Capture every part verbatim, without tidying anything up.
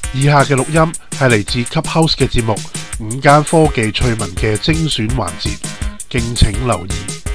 以下嘅錄音係嚟自 Clubhouse 嘅節目午間科技趣聞嘅精選環節，敬請留意。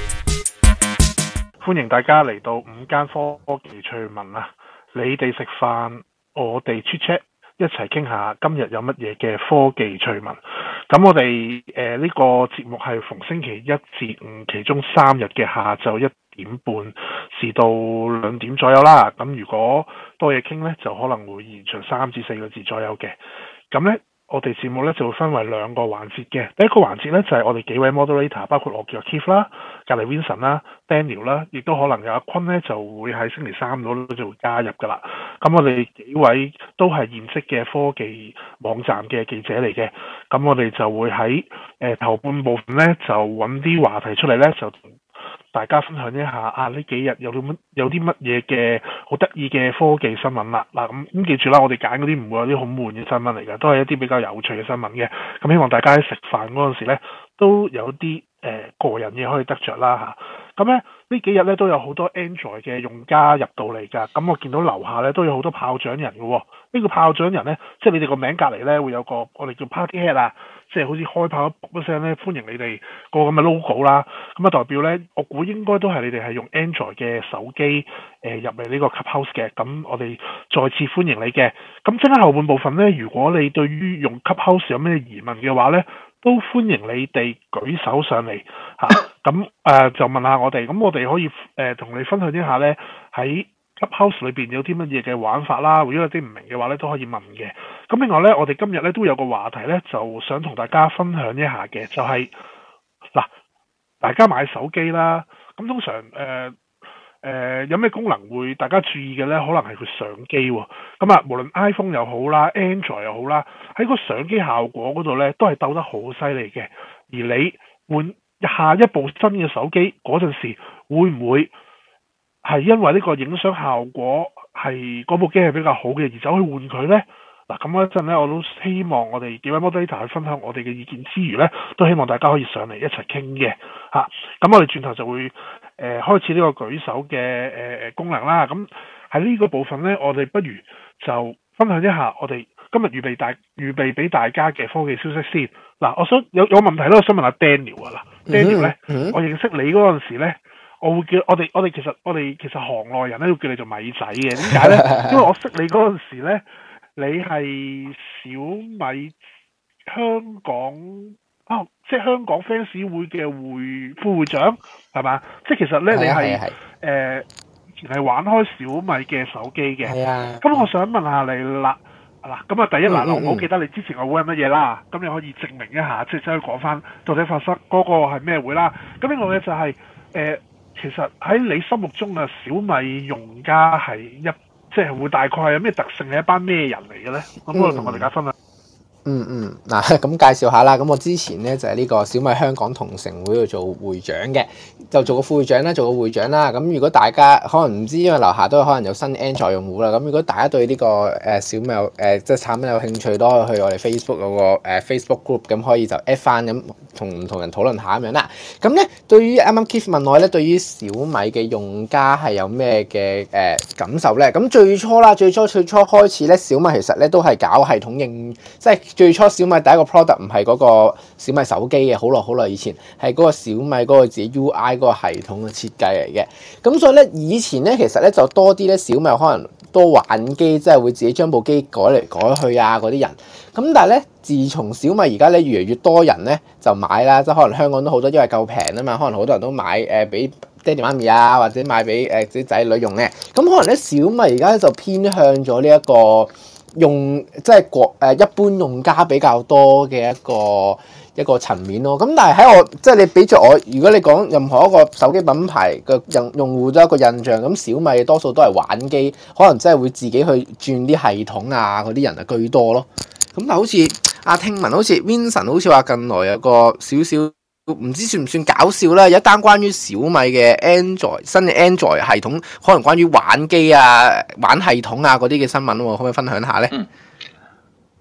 歡迎大家嚟到午間科技趣聞啊！你哋食飯，我哋 chat chat，一齊傾下今日有乜嘢嘅科技趣聞。咁我哋誒呢個節目係逢星期一至五，其中三日嘅下晝一點半至到兩點左右啦。咁如果多嘢傾呢，就可能會延長三至四個字左右嘅。咁呢，我哋節目呢就會分為兩個環節嘅。第一個環節呢，就係、是、我哋幾位 moderator， 包括我叫 Keith 啦、隔離 Vincent 啦、Daniel 啦，亦都可能有阿坤呢就會喺星期三嗰度就會加入噶啦。咁我哋幾位都係現職嘅科技網站嘅記者嚟嘅。咁我哋就會喺誒、呃、頭半部分呢，就揾啲話題出嚟呢，就同大家分享一下啊！呢幾日有啲乜有啲乜嘢嘅好得意嘅科技新聞啦。嗱，咁咁記住啦，我哋揀嗰啲唔會有啲好悶嘅新聞嚟嘅，都係一啲比較有趣嘅新聞嘅。咁希望大家喺食飯嗰陣時咧，都有啲誒、呃、個人嘢可以得着啦嚇。咁咧呢幾日咧都有好多 Android 嘅用家入到嚟㗎。咁我見到樓下咧都有好多炮仗人嘅喎。呢個炮仗人咧，即係你哋個名隔離咧會有個我哋叫 Party Head 啊。即係好似開炮一卜一聲咧，歡迎你哋個咁嘅 logo 啦，咁啊代表咧，我估應該都係你哋係用 Android 嘅手機誒、呃、入嚟呢個 Clubhouse 嘅，咁我哋再次歡迎你嘅。咁即係後半部分咧，如果你對於用 Clubhouse 有咩疑問嘅話咧，都歡迎你哋舉手上嚟嚇，咁、啊、誒、呃、就問下我哋，咁我哋可以誒同、呃、你分享一下咧喺Clubhouse 裏邊有啲乜嘢嘅玩法啦，如果有啲唔明嘅話咧，都可以問嘅。咁另外咧，我哋今日咧都有個話題咧，就想同大家分享一下嘅，就係、是、嗱，大家買手機啦，咁通常誒誒、呃呃、有咩功能會大家注意嘅咧？可能係佢相機喎。咁啊，無論 iPhone 又好啦 ，Android 又好啦，喺個相機效果嗰度咧，都係鬥得好犀利嘅。而你換下一部新嘅手機嗰陣時，會唔會係因為呢個影相效果係嗰部機係比較好嘅，而走去換佢呢？嗱，咁嗰陣咧，我都希望我哋幾位 moderator 去分享我哋嘅意見之餘呢，都希望大家可以上嚟一齊傾嘅嚇。咁、啊、我哋轉頭就會誒、呃、開始呢個舉手嘅誒誒功能啦。咁喺呢個部分呢，我哋不如就分享一下我哋今日預備大預備俾大家嘅科技消息先。嗱、啊，我想有有問題咧，我想問下 Daniel 啊。嗱 ，Daniel 呢，嗯嗯、我認識你嗰陣時咧。我會叫我哋我哋其實我哋其實行內人咧會叫你做米仔嘅，點解咧？因為我識你嗰陣時咧，你係小米香港啊、哦，即係香港 fans 會嘅會副會長係嘛？即係其實咧，你係誒以前係玩開小米嘅手機嘅。係啊。咁我想問下你啦，嗱，咁啊第一嗱，我好記得你之前個會係乜嘢啦，咁你可以證明一下，即係真係講翻到底發生嗰個係咩會啦。咁另外咧就係、是、誒。呃其實喺你心目中嘅小米用家係一即係會大概有咩特性，係一班咩人嚟嘅咧？咁我同我哋大家分享。 嗯嗯，嗱咁介紹下啦。咁我之前咧就係呢個小米香港同城會度做會長嘅，就做個副會長啦，做個會長啦。咁如果大家可能唔知，因為樓下都可能有新 Android 用戶啦。咁如果大家對呢個誒小米有誒即係產品有興趣，都可以去我哋 Facebook 嗰個誒 Facebook group，咁可以就 at 翻咁同唔同人討論下咁樣啦。咁咧對於啱啱 Keith 問我咧，對於小米嘅用家係有咩嘅誒感受咧？咁最初啦，最初最初開始咧，小米其實咧都係搞系統應即係。最初小米第一個 product 唔係嗰個小米手機嘅，好耐好耐以前係嗰個小米嗰個自己 U I 嗰個系統嘅設計嚟嘅。咁所以咧，以前咧其實咧就多啲咧小米可能多玩機，即係會自己將部機改嚟改去啊嗰啲人。咁但係咧，自從小米而家咧越嚟越多人咧就買啦，即係可能香港都好多，因為夠平啊嘛，可能好多人都買誒俾爹哋媽咪啊，或者買俾誒啲仔女用嘅。咁可能咧小米而家就偏向咗呢一個。用即係國誒一般用家比較多嘅一個一個層面咯。咁但係喺我即係你俾咗我，如果你講任何一個手機品牌嘅用用戶都有一個印象，咁小米多數都係玩機，可能真係會自己去轉啲系統啊嗰啲人啊居多咯。咁但係好似阿聽聞，好似 Vincent 好似話近來有個少少唔知算唔算搞笑啦，有一單關於小米嘅 Android 新嘅 Android 系統，可能關於玩機啊、玩系統啊嗰啲嘅新聞喎，可唔可以分享下咧？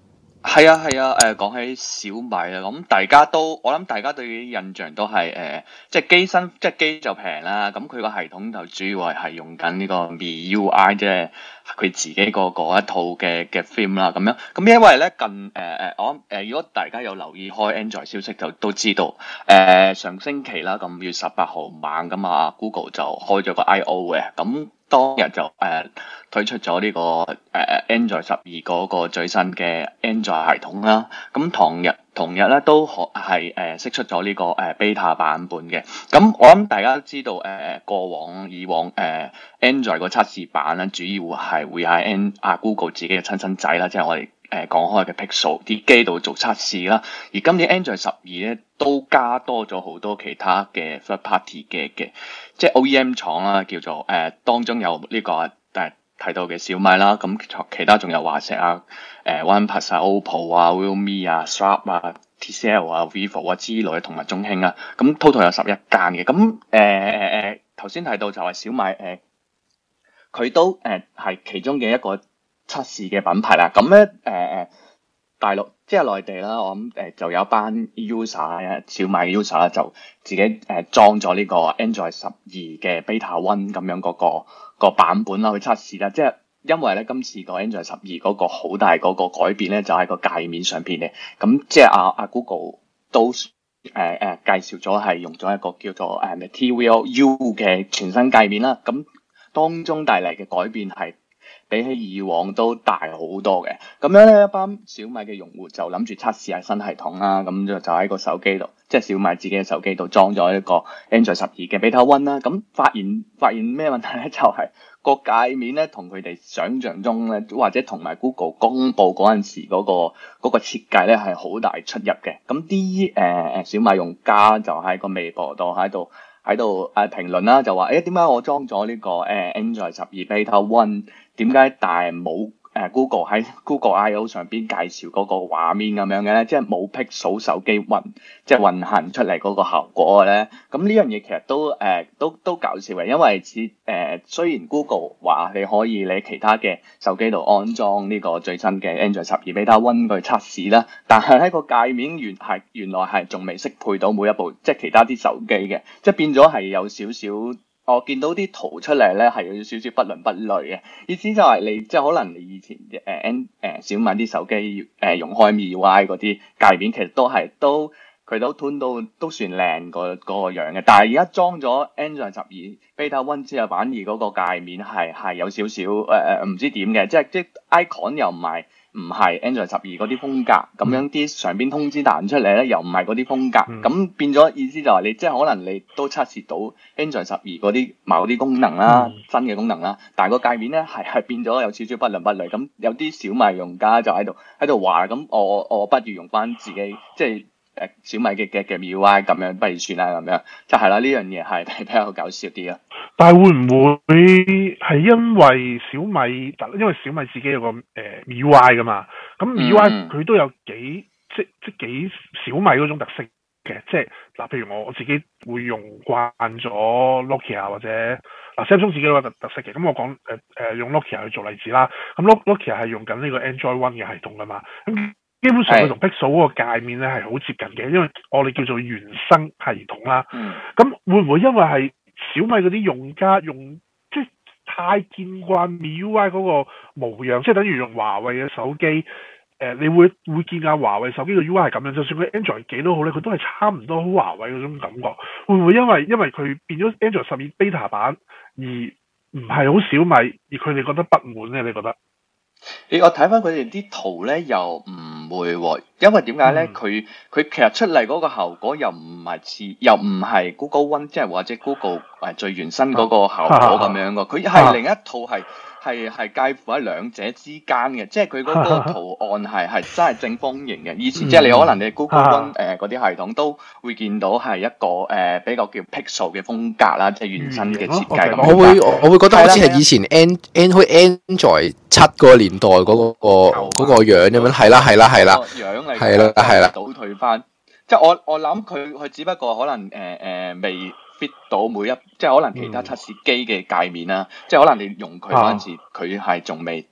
係啊係啊，誒講、呃、起小米啊，咁大家都我諗大家對於印象都係誒、呃，即係機身即係機就平啦，咁佢個系統就主要係係用緊呢個 M I U I，即係佢自己個嗰一套嘅嘅 theme 啦，咁樣咁因為咧近誒誒、呃、我誒、呃、如果大家有留意開 Android 消息就都知道，誒、呃、上星期啦，咁五月十八號晚咁啊 Google 就開咗個 I O 嘅，咁當日就誒、呃、推出咗呢、這個誒、呃、Android 十二嗰個最新嘅 Android 系統啦。咁同日同日咧都可係誒釋出咗呢、這個誒、呃、beta 版本嘅。咁我諗大家都知道誒、呃、過往以往誒、呃、Android 個測試版咧，主要係會喺 N 啊 Google 自己嘅親生仔啦，即係我哋誒講開嘅 Pixel 啲機度做測試啦。而今年 Android 十二咧都加多咗好多其他嘅 third party 嘅嘅，即係 O E M 廠啦，叫做誒、呃、當中有呢、這個誒、呃、提到嘅小米啦，咁其他仲有華碩啊、誒、呃、OnePlus 啊、OPPO 啊、Realme 啊、Sharp 啊、T C L 啊、Vivo 啊之類，同埋中興啊，咁 total 有十一間嘅。咁誒誒誒頭先提到就係小米誒，佢、呃、都誒係、呃、其中嘅一個測試嘅品牌啦。咁咧誒誒大陸即係內地啦，我諗誒、呃、就有一班 user 小米 user 就自己誒、呃、裝咗呢個 Android 十二嘅 Beta One 咁樣嗰、那個個版本啦去測試啦。即係因為咧今次個 Android 十二嗰個好大嗰個改變咧，就喺、是、個界面上邊嘅。咁即係阿阿 Google 都誒誒、呃、介紹咗係用咗一個叫做誒 Material U 嘅全新界面啦。咁當中帶嚟嘅改變係比起以往都大好多嘅，咁樣咧一班小米嘅用戶就諗住測試下新系統啦，咁就就喺個手機度，即係小米自己嘅手機度裝咗一個 Android 十二嘅 Beta One 啦，咁發現發現咩問題咧？就係、是、個界面咧同佢哋想象中咧，或者同埋 Google 公布嗰陣時嗰、那個嗰、那個設計咧係好大出入嘅，咁啲誒誒小米用家就喺個微博度喺度喺度誒評論啦，就話誒點解我裝咗呢個誒、呃、Android 十二 Beta One？點解但係冇誒 Google 喺 Google I O 上邊介紹嗰個畫面咁樣嘅咧？即係冇 Pixel 手機運即係運行出嚟嗰個效果嘅咧？咁呢樣嘢其實都誒、呃、都都搞笑嘅，因為似誒、呃、雖然 Google 話你可以你其他嘅手機度安裝呢個最新嘅 Android 十二 Beta One 去測試啦，但係喺個界面原係原來係仲未適配到每一部即係其他啲手機嘅，即係變咗係有少少。我見到啲圖出嚟咧，係有少少不倫不類嘅意思，就係你即係可能你以前誒 N 誒小米啲手機誒、呃、用開 M I U I 嗰啲界面，其實都係都佢都 tune 到都算靚個嗰個樣嘅。但係而家裝咗 Android 十二 Beta One 之後，反而嗰個界面係係有少少誒誒唔知點嘅，即係即係 icon 又唔係。唔係 Android 十二嗰啲風格，咁樣啲上邊通知彈出嚟咧，又唔係嗰啲風格，咁、嗯、變咗意思就係你即係可能你都測試到 Android 十二嗰啲某啲功能啦，嗯、新嘅功能啦，但係個界面咧係係變咗有少少不倫不類，咁有啲小米用家就喺度喺度話，咁我我不如用翻自己即係誒小米嘅嘅嘅 M I U I 咁樣，不如算啦咁樣，就係啦，呢樣嘢係係比較搞笑啲啊。 但係會唔會係因為小米，因為小米自己有個誒 M I U I 噶嘛，咁 M I U I 佢都有幾即即幾小米嗰種特色嘅，即係嗱，譬如我我自己會用慣咗 Nokia 或者嗱 Samsung 自己都有特特色嘅，咁我講誒誒用 Nokia 去做例子啦，咁 Nokia 係用緊呢個 Android One 嘅系統噶嘛，咁基本上佢同 Pixel 嗰個界面咧係好接近嘅，因為我哋叫做原生系統啦，咁會唔會因為係小米嗰啲用家用即係太見慣 M I U I 嗰個模樣，即係等於用華為嘅手機，誒、呃，你會會見下華為手機嘅 U I 係咁樣，就算佢 Android 幾都好咧，佢都係差唔多好華為嗰種感覺。會唔會因為因為佢變咗 Android 十二 Beta 版而唔係好小米，而佢哋覺得不滿咧？你覺得？ 你我睇翻佢哋啲圖咧，又唔會喎，因為點解咧？佢佢、嗯、其實出嚟嗰個效果又唔係似，又唔係 Google One， 即係或者 Google 誒最原生嗰個效果咁樣嘅，佢係、啊、另一套係。係係介乎喺兩者之間嘅，即係佢嗰個圖案係係真係正方形嘅，意思即係你可能你 Google One 誒嗰啲系統都會見到係一個誒、呃、比較叫 Pixel 嘅風格啦，即係原生嘅設計咁。 我會我會覺得好似係以前 N N 開 Android 七嗰個年代嗰、嗰個嗰、嗰個樣咁樣，係啦係啦係啦，樣嚟係啦係啦， 倒退翻。即係我我諗佢佢只不過可能誒誒、呃呃、未 fit 到每一，即係可能其他測試機嘅界面啦，嗯、即係可能你用佢嗰陣時，佢係仲未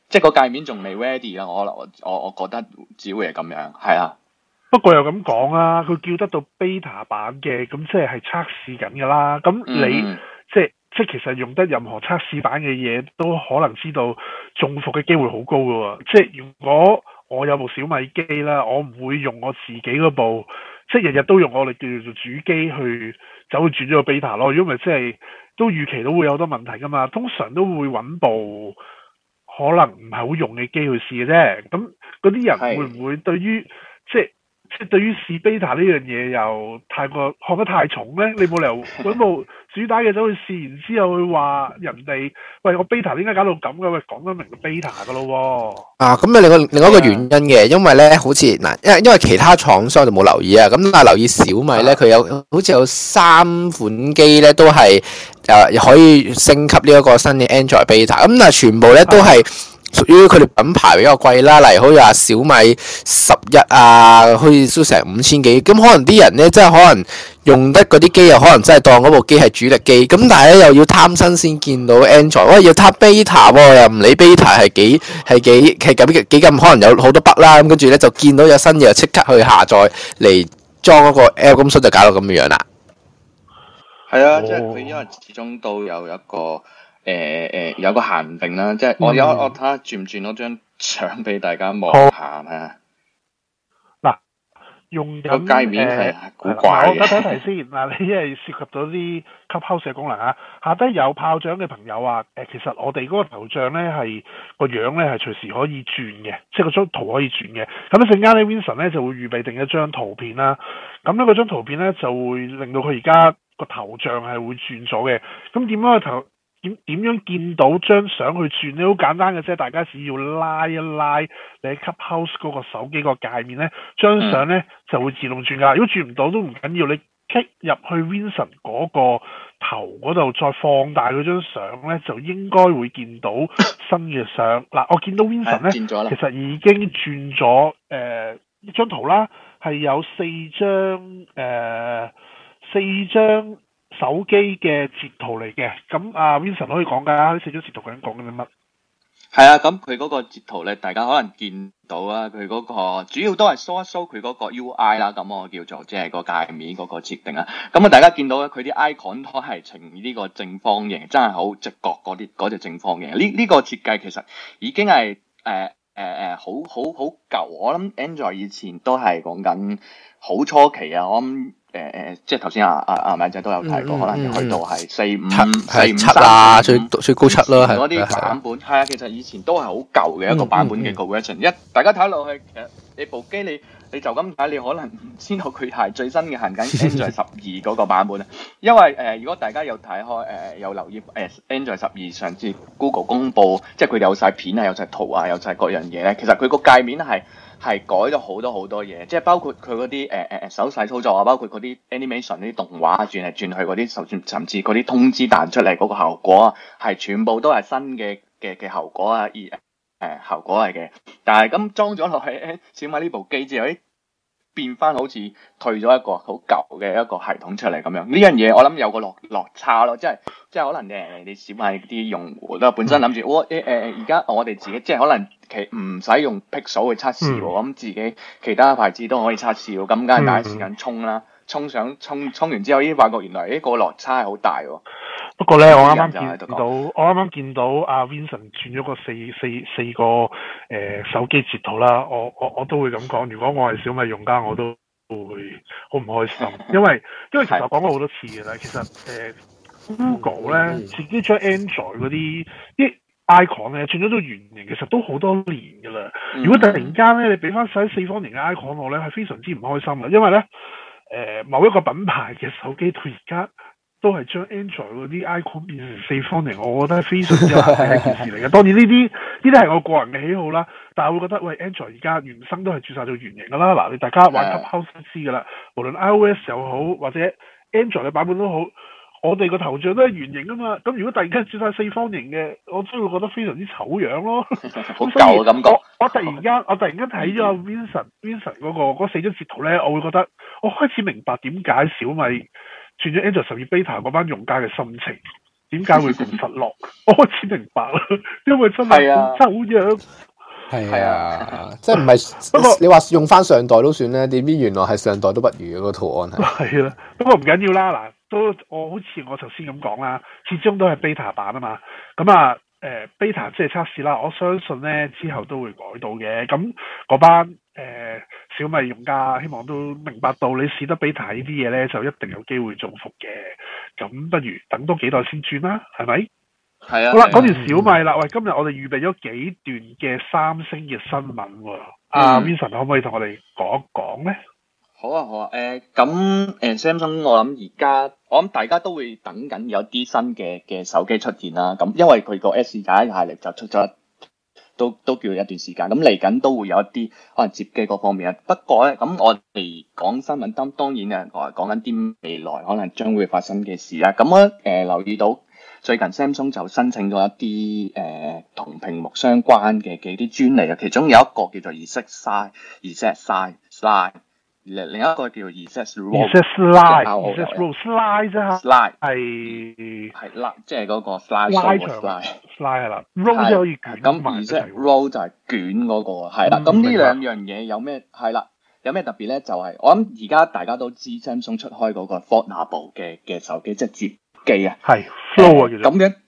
即係個界面仲未 ready 啦。我我我我覺得只會係咁樣，係啊。 不過又咁講啊，佢叫得到 beta 版嘅，咁即係係測試緊㗎啦。咁你、嗯、即係即係其實用得任何測試版嘅嘢，都可能知道中伏嘅機會好高㗎喎。即係如果我有部小米機啦，我唔會用我自己嗰部，即係日日都用我哋叫做主機去走去轉咗個 beta 咯。如果唔係，即係都預期都會有好多問題㗎嘛。通常都會揾部可能唔係好用嘅機去試嘅啫。咁嗰啲人會唔會對於即係？即係對於試 beta 呢樣嘢又太過看得太重咧，你冇理由揾部主打嘅走去試，然之後去話人哋喂我 beta 點解搞到咁嘅？喂，講得明個 beta 㗎咯喎。啊， 咁啊另外另外一個原因嘅，因為咧好似嗱，因為因為其他廠商就冇留意啊，咁但係留意小米咧，佢有好似有三款機咧都係誒、呃、可以升級呢一個新嘅 Android beta，咁但係全部咧都係屬於佢哋品牌比較貴啦，例如好似話小米十一啊，好似都成五千幾，咁可能啲人咧，即係可能用得嗰啲機，又可能真係當嗰部機係主力機，咁但係咧又要貪新先見到 Android，喂要貪 beta 喎，又唔理 beta 係幾係幾係咁幾咁，可能有好多 bug 啦，咁跟住咧就見到有新嘢，就即刻去下載嚟裝嗰個 app， 咁所以就搞到咁樣啦。 係啊，即係佢因為始終都有一個。誒誒、呃、有個限定啦，即係我有、嗯、我睇下轉唔轉嗰張相俾大家望下係啊。 嗱，用緊個界面係古怪嘅。 我睇睇先嗱，你因為涉及到啲 Clubhouse 嘅功能啊，下低有炮仗嘅朋友啊，誒其實我哋嗰個頭像咧係個樣咧係隨時可以轉嘅，即係個張圖可以轉嘅。咁一陣間咧 Vincent 咧就會預備定一張圖片啦。咁咧嗰張圖片咧就會令到佢而家個頭像係會轉咗嘅。咁點樣去頭？點點樣見到張相去轉咧？好簡單嘅啫，大家只要拉一拉你喺 Clubhouse 嗰個手機個界面咧，張相咧就會自動轉噶。如果轉唔到都唔緊要，你 click 入去 Vincent 嗰個頭嗰度，再放大嗰張相咧，就應該會見到新嘅相。嗱，我見到 Vincent 咧，其實已經轉咗誒一張圖啦，係有四張誒、呃、四張。手機嘅截圖嚟嘅，咁啊 Vincent 可以講㗎，呢四張截圖究竟講緊啲乜？ 係啊，咁佢嗰個截圖咧，大家可能見到啊，佢嗰個主要都係 show 一 show 佢嗰個 U I 啦，咁我叫做即係個界面嗰個設定啦。咁啊，大家見到咧，佢啲 icon 都係呈呢個正方形，真係好直角嗰啲嗰隻正方形。呢呢、呢個設計其實已經係誒誒誒好好好舊，我諗 Android 以前都係講緊好初期啊，我諗。誒誒、呃，即係頭先阿阿阿米仔都有提過，嗯、可能去到係四五四五七啦， 最最高七咯，係嗰啲版本。係啊，其實以前都係好舊嘅一個版本嘅個 version。一大家睇落去，其實你部機你你就咁睇，你可能唔知道佢係最新嘅行緊 Android 十二嗰個版本啊。因為誒、呃，如果大家有睇開誒、呃，有留意誒、呃、Android 十二上次 Google 公佈，即係佢有晒片啊，有晒圖啊，有晒各樣嘢咧，其實佢個界面係。係改咗好多好多嘢，即係包括佢嗰啲誒誒手勢操作啊，包括嗰啲 animation 啲動畫轉嚟轉去嗰啲，甚甚至嗰啲通知彈出嚟嗰個效果啊，係全部都係新嘅嘅嘅效果啊，而誒、呃、效果嚟嘅。但係咁裝咗落去小米呢部機之後，誒變翻好似退咗一個好舊嘅一個系統出嚟咁樣。呢樣嘢我諗有個落落差咯，即係即係可能誒你小米啲用戶都本身諗住，我誒誒而家我哋自己即係可能。其唔使用 Pixel 去測試喎，咁、嗯、自己其他牌子都可以測試喎，咁梗係第一時間衝啦，衝上衝衝完之後，已經發覺原來呢個落差係好大喎。 不過咧，我啱啱見到，我啱啱見到阿 Vincent 轉咗個四四四個誒、呃、手機截圖啦，我我我都會咁講，如果我係小米用家，我都會好唔開心，因為因為其實我講過好多次嘅啦，其實誒、呃、Google 咧、嗯、自己將 Android 嗰啲啲。icon 咧轉咗到圓形，其實都好多年噶啦。嗯、如果突然間咧，你俾翻晒四方形嘅 icon 我咧，係非常之唔開心嘅。因為咧，誒、呃、某一個品牌嘅手機到而家都係將 Android 嗰啲 icon 變成四方形，我覺得係非常之難嘅一件事嚟嘅。當然呢啲呢啲係我個人嘅喜好啦，但係我會覺得喂 Android 而家原生都係轉晒做圓形噶啦。嗱，你大家玩 Clubhouse 都知噶啦，無論 iOS 又好或者 Android 嘅版本都好。我哋個頭像都係圓形啊嘛，咁如果突然間轉晒四方形嘅，我真會覺得非常之醜樣咯。 好舊嘅感覺。 我我突然間我突然間睇咗阿 Vincent Vincent 嗰、嗰個嗰四張截圖咧，我會覺得我開始明白點解小米轉咗 Android 十二 beta 嗰班用家嘅心情。 點解會咁失落？我開始明白啦，因為真係好醜樣。 係啊，即係唔係？不過你話用翻上代都算咧，點知原來係上代都不如嗰個圖案係。 係啦，不過唔緊要啦。嗱，都我好似我頭先咁講啦，始終都係 beta 版啊嘛。咁啊，誒、呃、beta 即係測試啦。我相信咧之後都會改到嘅。咁嗰班誒、呃、小米用家，希望都明白到你試得 beta 呢啲嘢咧，就一定有機會中伏嘅。咁不如等多幾代先轉啦，係咪？ 係啊， 好啦，講完小米啦，喂，今日我哋預備咗幾段嘅三星嘅新聞喎，阿 Vincent 可唔可以同我哋講一講咧？ 好啊，好啊，誒咁誒 Samsung 我諗而家我諗大家都會等緊有啲新嘅嘅手機出現啦，咁因為佢個 S 廿一系列就出咗，都都叫一段時間，咁嚟緊都會有一啲可能接機嗰方面啊。不過咧，咁我哋講新聞當當然啊，講講緊啲未來可能將會發生嘅事啦。咁我誒、呃、留意到。最近 Samsung 就申請咗一啲誒同屏幕相關嘅嘅啲專利啊，其中有一個叫做 Reset Slide，Reset Slide，另另一個叫做 Reset Roll，Reset Slide，Reset Roll，Slide 啫 ，Slide 係係啦，即係嗰個 Slide Slide，Slide 係啦 ，Roll 就可以捲咁 Reset Roll 就係捲嗰個係啦。咁呢兩樣嘢有咩係啦？有咩特別咧？就係、是、我諗而家大家都知 Samsung 出開嗰個 Foldable 嘅嘅手機，即係摺機啊， 係 Flow 啊， 咁樣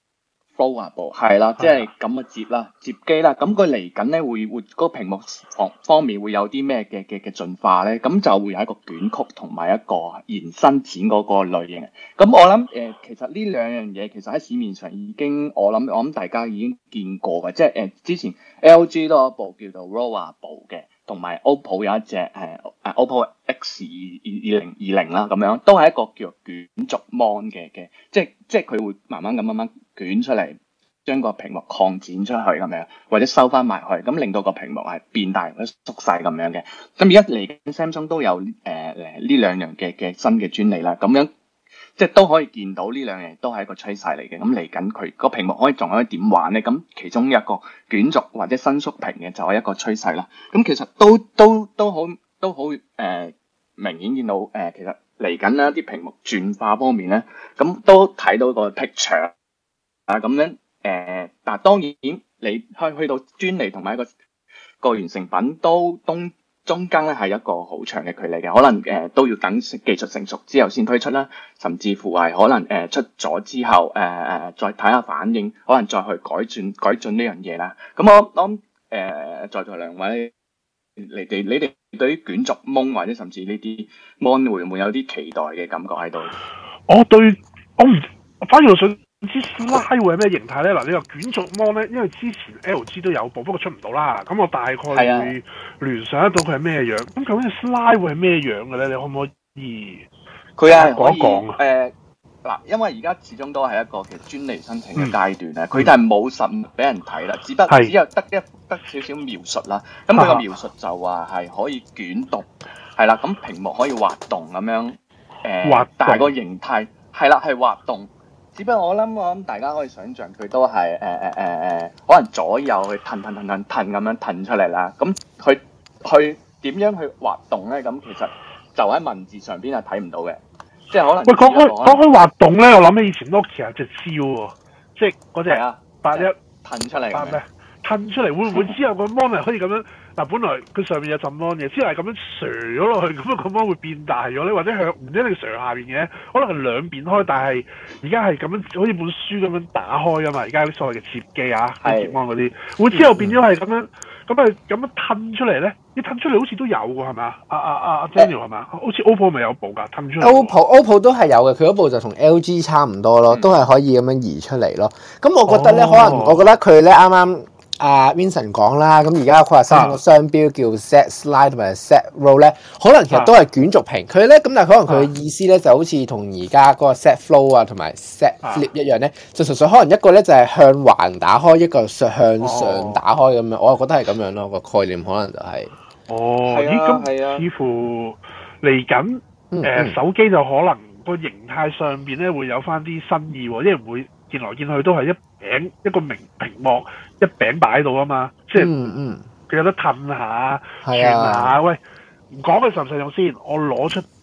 Foldable 係啦，即係咁嘅摺啦，摺機啦。咁佢嚟緊咧會會嗰個屏幕方方面會有啲咩嘅嘅嘅進化咧？咁就會有一個捲曲同埋一個延伸剪嗰個類型。咁我諗誒、呃，其實呢兩樣嘢其實喺市面上已經我諗我諗大家已經見過嘅，即係誒、呃、之前 L G 都有一部叫做 Rollable 嘅。同埋 O P P O 有一隻誒誒 O P P O X 二二零二零啦，咁樣都係一個叫做捲軸 mon 嘅嘅，即係即係佢會慢慢咁慢慢捲出嚟，將個屏幕擴展出去咁樣，或者收翻埋去，咁令到個屏幕係變大或者縮細咁樣嘅。咁而家嚟緊 Samsung 都有誒誒呢兩樣嘅嘅新嘅專利啦，咁樣即係都可以見到呢兩樣都係一個趨勢嚟嘅。咁嚟緊佢個屏幕可以仲可以點玩咧？咁其中一個捲軸或者伸縮屏嘅就係一個趨勢啦。咁其實都都都好都好誒、呃、明顯見到誒、呃，其實嚟緊咧啲屏幕轉化方面咧，咁都睇到個 picture 啊咁樣誒。但係當然你去去到專利同埋一個個完成品都東。中間咧係一個好長嘅距離嘅，可能誒、呃、都要等技術成熟之後先推出啦，甚至乎係可能誒、呃、出咗之後誒誒、呃、再睇下反應，可能再去改進改進呢樣嘢啦。咁我諗誒、呃、在座兩位，你哋你哋對於捲軸蒙或者甚至呢啲 mon 會唔會有啲期待嘅感覺喺度？ 我對我唔，反而我想知 Slide 會係咩形態咧？嗱，你話捲軸 mon 咧，因為之前 L G 都有部，不過出唔到啦。咁我大概會聯想得到佢係咩樣。咁究竟 Slide 會係咩樣嘅咧？你可唔可以佢係可以講啊？ 誒嗱，因為而家始終都係一個其實專利申請嘅階段咧，佢哋係冇實物俾人睇啦，只不過只有得一得少少描述啦。咁佢個描述就話係可以捲動，係啦，咁屏幕可以滑動咁樣誒， 滑動但係個形態係啦係滑動。只不過我諗我諗大家可以想象佢都係誒誒誒誒，可能左右去騰騰騰騰騰咁樣騰出嚟啦。咁佢去點樣去滑動咧？咁其實就喺文字上邊係睇唔到嘅，即係可能。喂， 講開講開滑動咧，我諗起以前 Nokia 隻招喎，即係嗰隻八一騰出嚟。 八咩？騰出嚟會唔會之後個 mon 可以咁樣？嗱，本來佢上面有浸 mon 嘅，之後係咁樣瀡咗落去，咁樣個 mon 會變大咗咧，或者向唔一定瀡下邊嘅，可能係兩邊開，但係而家係咁樣好似本書咁樣打開噶嘛，而家啲所謂嘅摺機啊，摺 mon 嗰啲，會之後變咗係咁樣，咁係咁樣褪出嚟咧？你褪出嚟好似都有喎，係咪啊？阿阿阿阿 Daniel 係咪啊？好似 O P P O 咪有部㗎，褪出嚟。O P P O O P P O 都係有嘅，佢嗰部就同 L G 差唔多咯，嗯、都係可以咁樣移出嚟咯。咁我覺得咧，哦、可能我覺得佢咧啱啱。阿、uh, Vincent 講啦，咁而家佢話申請個商標叫 Set Slide 同埋 Set Roll 咧，可能其實都係捲軸屏。佢咧咁，但係可能佢嘅意思咧就好似同而家嗰個 Set Flow 啊同埋 Set Flip 一樣咧，就純粹可能一個咧就係向橫打開，一個向上打開咁樣。哦、我又覺得係咁樣咯，個概念可能就係、是。 哦，咦咁似乎嚟緊誒手機就可能個形態上邊咧會有翻啲新意喎，因為唔會見來見去都係一餅一個明屏幕一餅擺喺度啊嘛，即係嗯嗯， 佢有得褪下轉下，喂，唔講佢實唔實用先，我攞出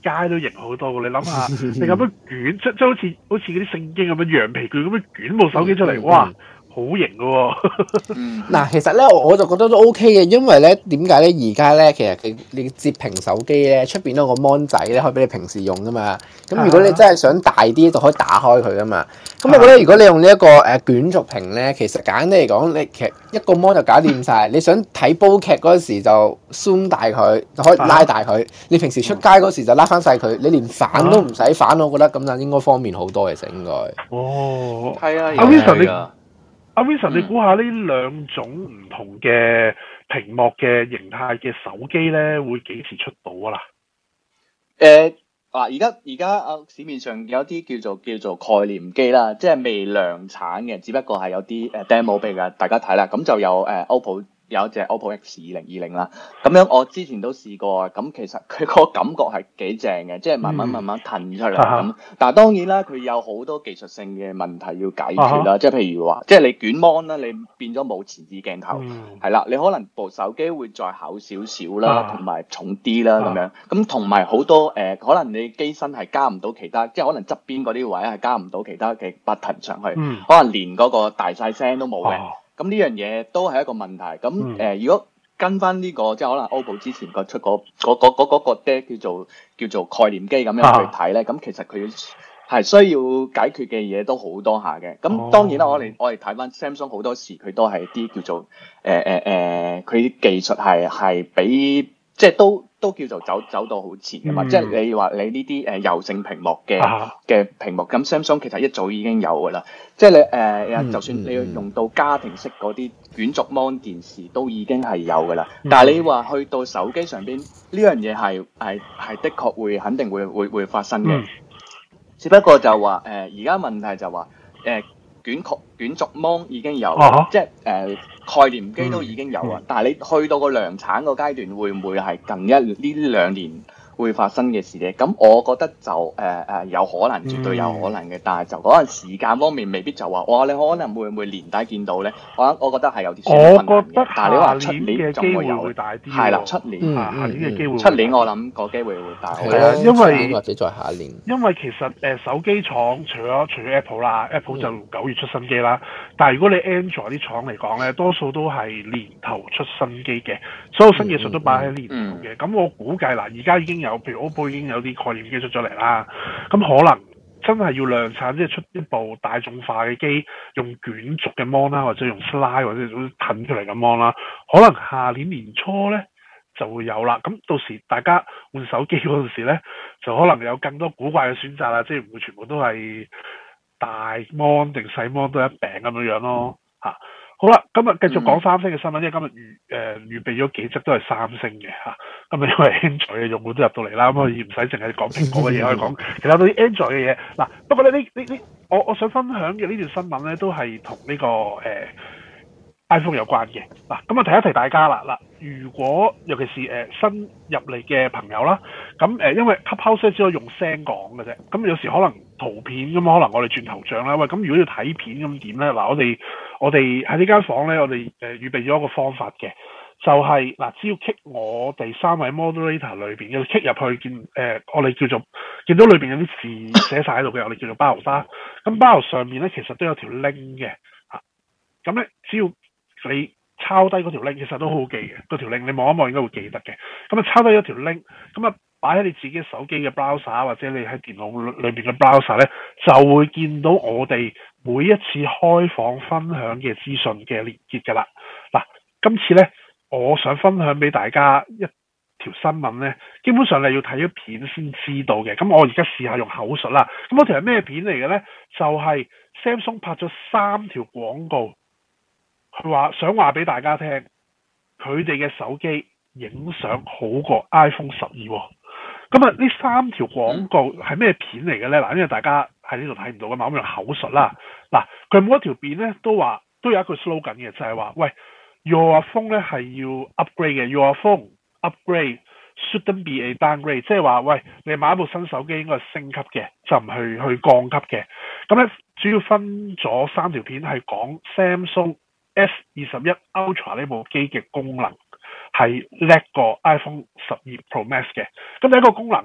街都型好多嘅。你諗下，你咁樣捲，即即好似好似嗰啲聖經咁樣羊皮卷咁樣捲部手機出嚟，哇！好型嘅喎！ 嗱，其實咧我就覺得都 OK 嘅，因為咧點解咧而家咧其實佢你摺屏手機咧出邊都有個 mon 仔咧可以俾你平時用噶嘛。咁如果你真係想大啲，就可以打開佢噶嘛。咁我覺得如果你用呢一個誒捲軸屏咧，其實簡單嚟講，你其實一個 mon 就搞掂晒。你想睇煲劇嗰時就 zoom 大佢，就可以拉大佢。你平時出街嗰時就拉翻細佢，你連反都唔使反，我覺得咁就應該方便好多其實應該。 哦， 係啊， 阿 Vincent 你。阿 Vincent，你估下呢兩種唔同嘅屏幕嘅形態嘅手機咧，會幾時出到啊啦？ 誒嗱，而家而家啊市面上有啲叫做叫做概念機啦，即係未量產嘅，只不過係有啲誒 demo 俾大家睇啦。咁就有誒 O P P O。有一隻 O P P O X 二零二零啦，咁樣我之前都試過啊，咁其實佢個感覺係幾正嘅，即係慢慢慢慢騰出嚟咁。嗯、但係當然啦，佢有好多技術性嘅問題要解決啦，即係、啊、譬如話，即係你捲 mon 啦，你變咗冇前置鏡頭，係啦、嗯，你可能部手機會再厚少少啦，同埋、啊、重啲啦咁樣。咁同埋好多誒、呃，可能你機身係加唔到其他，即係可能側邊嗰啲位係加唔到其他嘅 button 上去，嗯、可能連嗰個大細聲都冇嘅。啊咁呢樣嘢都係一個問題。咁誒、呃，如果跟翻呢、這個，即係可能 O P P O 之前個出嗰嗰嗰嗰嗰個咧叫做叫做概念機咁樣去睇咧，咁、啊、其實佢係需要解決嘅嘢都好多下嘅。咁當然啦，我哋我哋睇翻 Samsung 好多時佢都係啲叫做誒誒誒，佢、呃、啲、呃、技術係係比即係都都叫做走走到好前嘅嘛。嗯、即係你話你呢啲誒柔性屏幕嘅嘅、啊、屏幕，咁 Samsung 其實一早已經有㗎啦。即係你誒，呃嗯、就算你要用到家庭式嗰啲捲軸 mon 電視，都已經係有㗎啦。嗯、但係你話去到手機上邊呢樣嘢係係係的確會肯定會會會發生嘅。嗯、只不過就話誒，而、呃、家問題就話誒、呃、捲曲捲軸 mon 已經有，啊、即係誒、呃、概念機都已經有啊。嗯嗯、但係你去到個量產個階段，會唔會係近一呢兩年會發生嘅事咧？咁我覺得就誒誒、呃、有可能，絕對有可能嘅。嗯、但係就嗰陣時間方面，未必就話哇，你可能會唔會年底見到咧？我我覺得係有啲困難嘅。我覺得但係你話出年嘅機會會大啲。係啦，出年下年嘅機會。出年我諗個機會會大。 係啊，因為或者再下一年。 因為其實誒、呃、手機廠除咗除咗 Apple 啦 ，Apple 就九月出新機啦。嗯、但係如果你 Android 啲廠嚟講咧，多數都係年頭出新機嘅，所有新技術都擺喺年頭嘅。咁、嗯嗯、我估計嗱，而家已經有，譬如 O P P O 已經有啲概念機出咗嚟啦。咁可能真係要量產，即係出一部大眾化嘅機，用捲軸嘅 mon 啦，或者用 slide 或者用褪出嚟嘅 mon 啦，可能下年年初咧就會有啦。咁到時大家換手機嗰陣時咧，就可能有更多古怪嘅選擇啦，即係唔會全部都係大 mon 定細 mon 都一餅咁樣樣咯。嚇、啊！好啦，今日繼續講三星嘅新聞，因為今日預誒、呃、預備咗幾則都係三星嘅嚇。咁啊，因為 Android 嘅用戶都入到嚟啦，咁可以唔使淨係講蘋果嘅嘢，可以講其他啲 Android 嘅嘢。嗱，不過咧呢呢呢，我我想分享嘅呢段新聞咧，都係同呢個誒、呃、iPhone 有關嘅。嗱，咁啊提一提大家啦。嗱，如果尤其是誒、呃、新入嚟嘅朋友啦，咁誒、呃、因為 Clubhouse 只可以用聲講嘅啫，咁有時可能圖片咁，可能我哋轉頭像啦。喂，咁如果要睇片咁點咧？嗱，我哋我哋喺呢間房咧，我哋誒、呃、預備咗一個方法嘅。就係、是、嗱，只要 click 我哋三位 moderator 裏邊嘅 click 入去見誒、呃，我哋叫做見到裏邊有啲字寫晒喺度嘅，我哋叫做 bio 啦。咁 bio 上面咧其實都有條 link 嘅嚇，咁、啊、咧只要你抄低嗰條 link，其實都好好記嘅。嗰條 link 你望一望應該會記得嘅。咁啊抄低咗條 link，咁啊擺喺你自己手機嘅 browser 或者你喺電腦裏邊嘅 browser 咧，就會見到我哋每一次開房分享嘅資訊嘅連結㗎啦。嗱、啊，今次咧。我想分享俾大家一條新聞咧，基本上你要睇咗片先知道嘅。咁我而家試下用口述啦。咁嗰條係咩片嚟嘅咧？就係、是、Samsung 拍咗三條廣告，佢話想話俾大家聽，佢哋嘅手機影相好過 iPhone 十二。咁啊，呢三條廣告係咩片嚟嘅咧？嗱，因為大家喺呢度睇唔到噶嘛，我用口述啦。嗱，佢每一條片咧都話都有一句 slogan 嘅，就係、是、話喂。Your phone 咧係要 upgrade 嘅 ，Your phone upgrade shouldn't be a downgrade， 即係話喂，你買一部新手機應該係升級嘅，就唔去去降級嘅。咁咧主要分咗三條片係講 Samsung S 二十一 Ultra 呢部機嘅功能係叻過 iPhone 十二 Pro Max 嘅。咁第一個功能咧，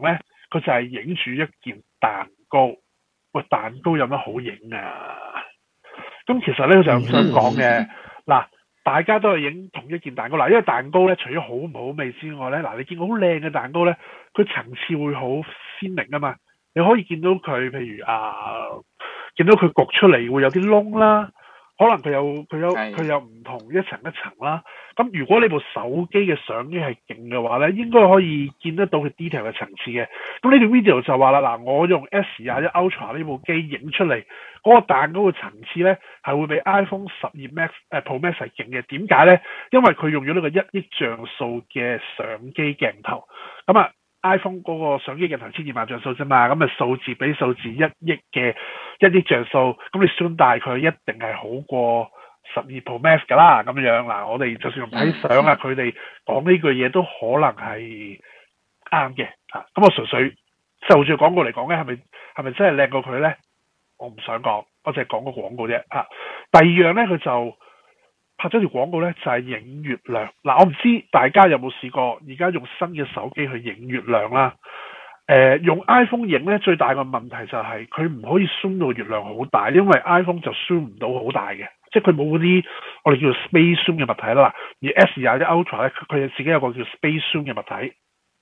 佢就係影住一件蛋糕。喂，蛋糕有乜好影啊？咁其實咧，佢就咁想講嘅。嗱，大家都係影同一件蛋糕。嗱，因為蛋糕咧，除咗好唔好味之外咧，嗱，你見到好靚嘅蛋糕咧，佢層次會好鮮明啊嘛。你可以見到佢，譬如啊，見到佢焗出嚟會有啲窿啦。可能佢有佢有佢有唔同一層一層啦。咁如果你部手機嘅相機係勁嘅話咧，應該可以見得到佢 detail 嘅層次嘅。咁呢條 video 就話啦，嗱，我用 S 廿一 Ultra 呢部機影出嚟嗰個蛋糕嘅層次咧，係會比 iPhone 十二 Max 誒 Pro Max 係勁嘅。點解咧？因為佢用咗呢個一億像素嘅相機鏡頭。咁啊〜iPhone 嗰個相機鏡頭千二萬像素啫嘛，咁啊數字比數字一億嘅一億像素，咁你 zoom 大佢一定係好過十二 Pro Max 噶啦，咁樣嗱，我哋就算用睇相啊，佢哋講呢句嘢都可能係啱嘅嚇。咁我純粹就住廣告嚟講咧，係咪係咪真係靚過佢咧？我唔想講，我淨係講個廣告啫嚇。第二樣咧，佢就拍咗條廣告咧，就係、是、影月亮。嗱，我唔知大家有冇試過，而家用新嘅手機去影月亮啦。誒、呃，用 iPhone 影咧，最大嘅問題就係佢唔可以 zoom 到月亮好大，因為 iPhone 就 zoom 唔到好大嘅，即係佢冇嗰啲我哋叫做 Space Zoom 嘅物體啦。而 S 廿一 Ultra 咧，佢自己有個叫 Space Zoom 嘅物體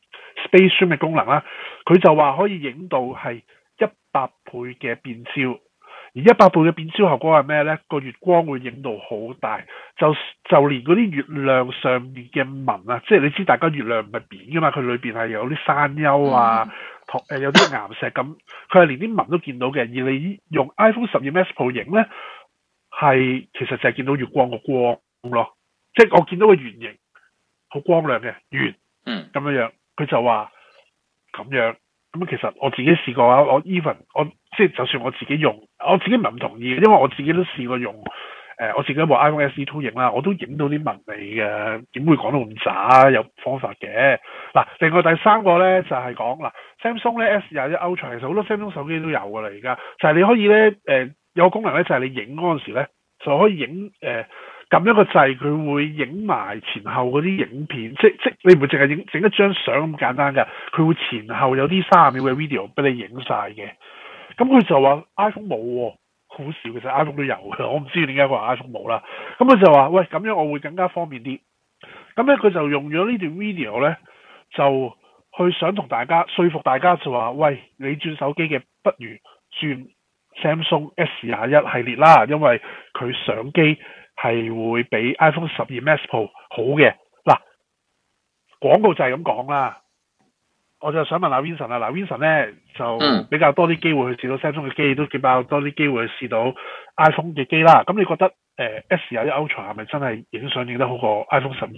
，Space Zoom 嘅功能啦，佢就話可以影到係一百倍嘅變焦。而一百倍嘅變焦效果係咩呢？個月光會影到好大，就就連嗰啲月亮上面嘅紋啊，即係你知大家月亮唔係扁噶嘛，佢裏邊係有啲山丘啊，同、呃、有啲岩石咁，佢係連啲紋都見到嘅。而你用 iPhone 十二 Max Pro 影呢，係其實就係見到月光個光咯，即係我見到個圓形好光亮嘅圓，嗯，咁樣樣，佢就話咁樣。咁其實我自己試過啊，我 even 我即係就算我自己用，我自己唔係咁同意嘅，因為我自己都試過用誒、呃，我自己部 iPhone S E 二影啦，我都影到啲紋理嘅，點會講到咁渣？有方法嘅。嗱，另外第三個咧就係講嗱 Samsung 咧 S 廿一 Ultra 其實好多 Samsung 手機都有㗎啦，而家就係、是、你可以咧誒、呃、有個功能咧就係、是、你影嗰陣時咧就可以影誒撳一個掣，佢會影埋前後嗰啲影片，即即你唔會淨係影整一張相咁簡單㗎，佢會前後有啲三十秒嘅 video 俾你影晒嘅。咁佢就話 iPhone 冇喎，好少其實 iPhone 都有嘅，我唔知點解佢話 iPhone 冇啦。咁佢就話喂，咁樣我會更加方便啲。咁咧佢就用咗呢段 video 咧，就去想同大家說服大家就話喂，你轉手機嘅不如轉 Samsung S 廿一系列啦，因為佢相機係會比 iPhone 十二 Max Pro 好嘅。嗱，廣告就係咁講啦。我就想問下 Vincent 啦，嗱 Vincent 咧就比較多啲機會去試到 Samsung 嘅機，都比較多啲機會去試到 iPhone 嘅機啦。咁你覺得誒、呃、S 廿一 Ultra 係咪真係影相影得好過 iPhone 十二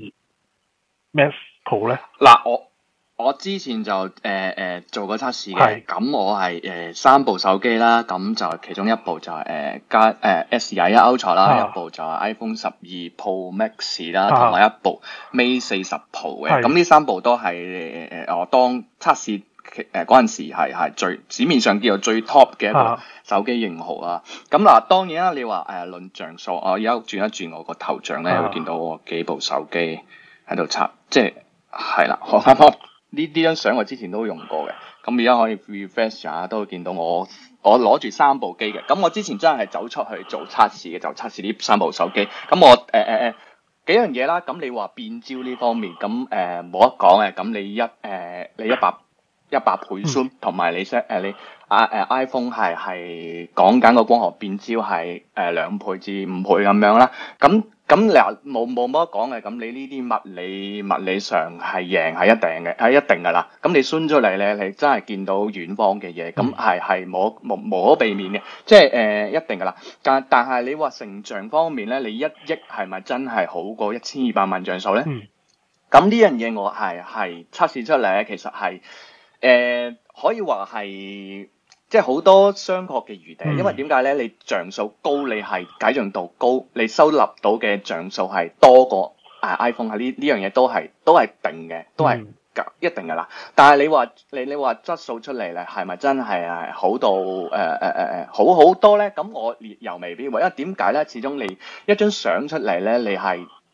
Max Pro 咧？ 嗱，我我之前就誒誒、呃、做過測試嘅，咁我係誒、呃、三部手機啦，咁就其中一部就係誒加誒 S 廿一 Ultra 啦，啊、一部就係 iPhone 十二 Pro Max 啦，同埋、啊、一部 Mate 四十 Pro 嘅，咁呢三部都係誒誒我當測試誒嗰陣時係係最市面上叫做最 top 嘅一個手機型號啦。咁嗱、啊，當然啦，你話誒論像素，我而家轉一轉我個頭像咧，啊、會見到我幾部手機喺度測，即係係啦，我啱啱。呢呢張相我之前都用過嘅，咁而家可以 refresh 下，都會見到我我攞住三部機嘅。咁我之前真係走出去做測試嘅，就測試呢三部手機。咁我誒誒誒幾樣嘢啦。咁你話變焦呢方面，咁誒冇得講嘅。咁你一誒、呃、你一百一百倍 zoom，同埋你 set 誒你啊誒 iPhone 係係講緊個光學變焦係誒兩倍至五倍咁樣啦。咁咁你冇冇乜得講嘅，咁你呢啲物理物理上係贏係一定嘅，係一定噶啦。咁你伸出嚟咧，你真係見到遠方嘅嘢，咁係係冇無無可避免嘅，即係誒、呃、一定噶啦。但但係你話成像方面咧，你一億係咪真係好過一千二百萬像素咧？咁呢、嗯、樣嘢我係係測試出嚟咧，其實係誒、呃、可以話係。即係好多商榷嘅餘地，因為點解咧？你像素高，你係解像度高，你收納到嘅像素係多過啊 iPhone 係呢呢樣嘢都係都係定嘅，都係一定㗎啦。但係你話你你話質素出嚟咧，係咪真係係好到誒誒誒誒好好多咧？咁我又未必會，因為點解咧？始終你一張相出嚟咧，你係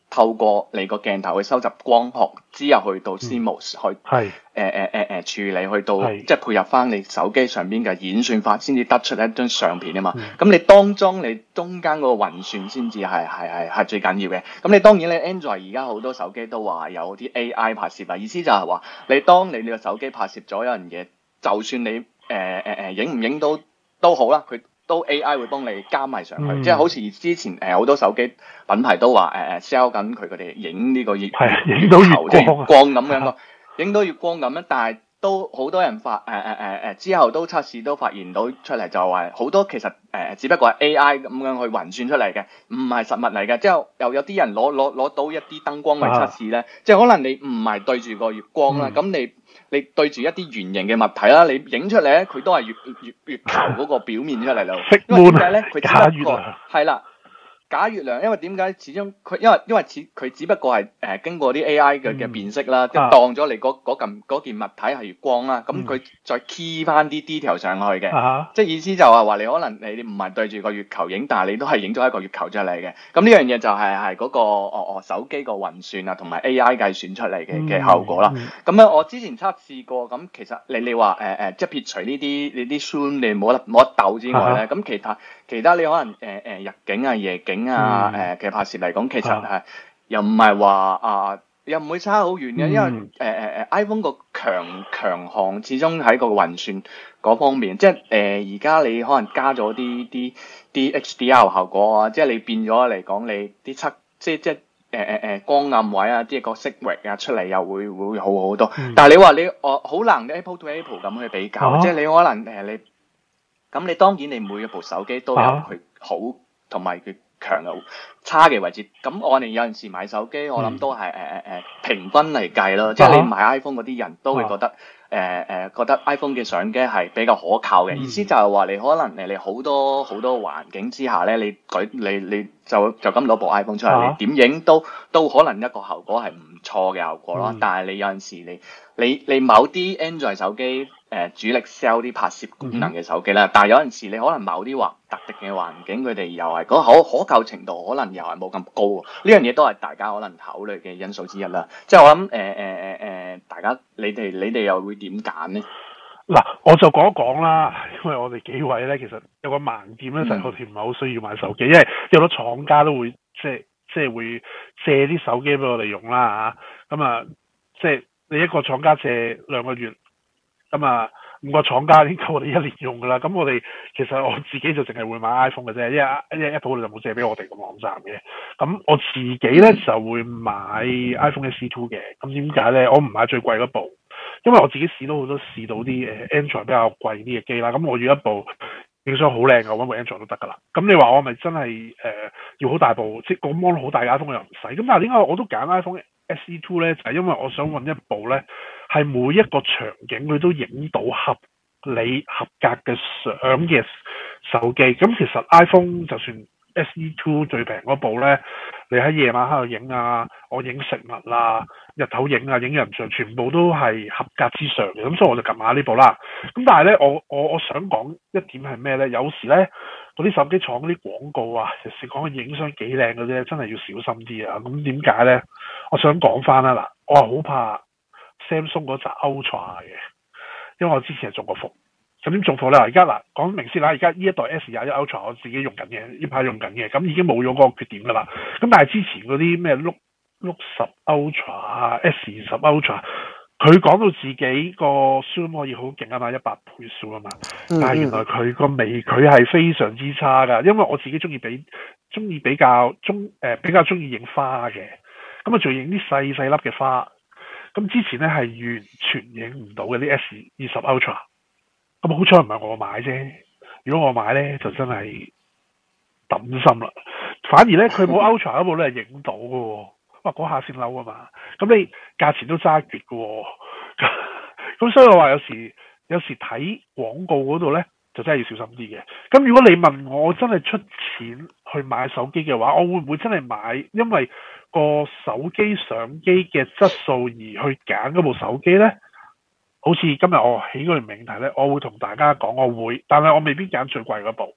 透過你個鏡頭去收集光學，之後去到 C M O S、嗯、去誒誒誒誒處理，去到即係配合翻你手機上邊嘅演算法，先至得出一張相片啊嘛。咁、嗯、你當中你中間嗰個運算先至係係係係最緊要嘅。咁你當然你 Android 而家好多手機都話有啲 A I 拍攝啊，意思就係話你當你你個手機拍攝咗一樣嘢，就算你誒誒誒影唔影到都好啦，佢都 A I 會幫你加埋上去，嗯、即係好似之前誒好、呃、多手機品牌都話誒誒 sell 緊佢佢哋影呢個月影到月光光咁樣咯，影到月光咁樣，但係都好多人發誒誒誒誒之後都測試都發現到出嚟就話好多其實誒、呃、只不過係 A I 咁樣去運算出嚟嘅，唔係實物嚟嘅。之後又有啲人攞攞攞到一啲燈光去測試咧，啊、即係可能你唔係對住個月光啦，咁、嗯、你。你對住一啲圓形嘅物體啦，你影出嚟咧，佢都係月月月球嗰個表面出嚟咯。因為點解咧？佢只不過係啦，假月亮。因為點解？始終佢因為因為似佢只不過係誒、呃、經過啲 A I 嘅嘅辨識啦，即係、嗯、當咗你嗰嗰件件物體係月光啦，咁佢、嗯、再 key 翻啲 detail 上去嘅，嗯、即係意思就係話你可能你唔係對住個月球影，但係你都係影咗一個月球出嚟嘅。咁呢樣嘢就係係嗰個哦哦手機個運算啊，同埋 A I 計算出嚟嘅嘅效果啦。咁樣、嗯嗯、我之前測試過，咁其實你你話誒誒，即係撇除呢啲你啲 zoom 你冇得冇得鬥之外咧，咁、嗯、其他其他你可能誒誒、呃、日景啊、夜景啊誒嘅拍攝嚟講，其實係、嗯、又唔係話啊。又唔會差好遠嘅，因為誒誒誒 iPhone 個強強項始終喺個運算嗰方面，即係誒而家你可能加咗啲啲啲 H D R 效果啊，即係你變咗嚟講你啲測即係即係誒誒誒光暗位啊，即係個色域啊出嚟又會會好好多。嗯、但係你話你我好難 Apple to Apple 咁去比較，啊、即係你可能誒你咁你當然你每一部手機都有佢好同埋佢強嘅差嘅位置，咁我哋有陣時買手機，我諗都係誒誒誒平均嚟計咯，即係你買 iPhone 嗰啲人都會覺得誒誒、呃呃、覺得 iPhone 嘅相機係比較可靠嘅，嗯、意思就係話你可能誒你好多好多環境之下咧，你舉你你就就咁攞部 iPhone 出嚟，啊、你點影都都可能一個效果係唔錯嘅效果咯，嗯、但係你有陣時你你你某啲 Android 手機。誒、呃、主力 sell 啲拍攝功能嘅手機啦，嗯、但係有陣時你可能某啲環特定嘅環境，佢哋又係嗰可可靠程度可能又係冇咁高，呢樣嘢都係大家可能考慮嘅因素之一啦。即係我諗誒誒誒誒，大家你哋你哋又會點揀呢？ 嗱，我就講一講啦，因為我哋幾位咧，其實有個盲點咧，就係我哋唔係好需要買手機，因為有好多廠家都會即係即係會借啲手機俾我哋用啦嚇。咁啊，即係你一個廠家借兩個月。咁啊，五個廠家已經夠我哋一年用噶啦。咁我哋其實我自己就淨係會買 iPhone 嘅啫，因為因為 Apple 就冇借俾我哋個網站嘅。咁我自己咧就會買 iPhone S E two 嘅。咁點解咧？我唔買最貴嗰部，因為我自己試到好多試到啲誒 Android 比較貴啲嘅機啦。咁我要一部影相好靚嘅，我揾部 Android 都得噶啦。咁你話我咪真係誒、呃、要好大部，即係個 mon 好大嘅 iPhone 又唔使。咁但係點解我都揀 iPhone S E two 咧？就係、是、因為我想揾一部咧。係每一個場景佢都影到合理合格嘅相嘅手機。咁其實 iPhone 就算 S E two 最平嗰部咧，你喺夜晚喺度影啊，我影食物啊，日頭影啊，影人像，全部都係合格之上嘅。咁所以我就撳下呢部啦。咁但係咧，我我我想講一點係咩咧？有時咧嗰啲手機廠嗰啲廣告啊，尤其是講影相幾靚嗰啲咧，真係要小心啲啊。咁點解咧？我想講翻啦，嗱，我係好怕 Samsung 嗰隻 Ultra 嘅，因為我之前係中過伏。咁點中伏咧？而家嗱講明先啦，而家呢一代 S 廿一 Ultra 我自己用緊嘅，呢排用緊嘅，咁已經冇咗嗰個缺點噶啦。咁但係之前嗰啲咩 Look Look 十 Ultra 啊 S 二十 Ultra， 佢講到自己個 zoom 可以好勁啊嘛，一百倍 zoom 啊嘛，但係原來佢個微距係非常之差噶，因為我自己中意比中意比較中誒、呃、比較中意影花嘅，咁啊仲影啲細細粒嘅花。咁之前咧係完全影唔到嘅啲 S 二十 Ultra， 咁好彩唔係我買啫。如果我買咧，就真係抌心啦。反而咧，佢冇 Ultra 嗰部咧係影到嘅喎，哇嗰下先嬲啊嘛。咁你價錢都揸絕嘅喎，咁所以我話有時有時睇廣告嗰度咧，就真係要小心啲嘅。咁如果你問我，我真係出錢去買手機嘅話，我會唔會真係買？因為個手機相機嘅質素而去揀嗰部手機呢？好似今日我起嗰條命題呢，我會同大家講我會，但係我未必揀最貴嗰部，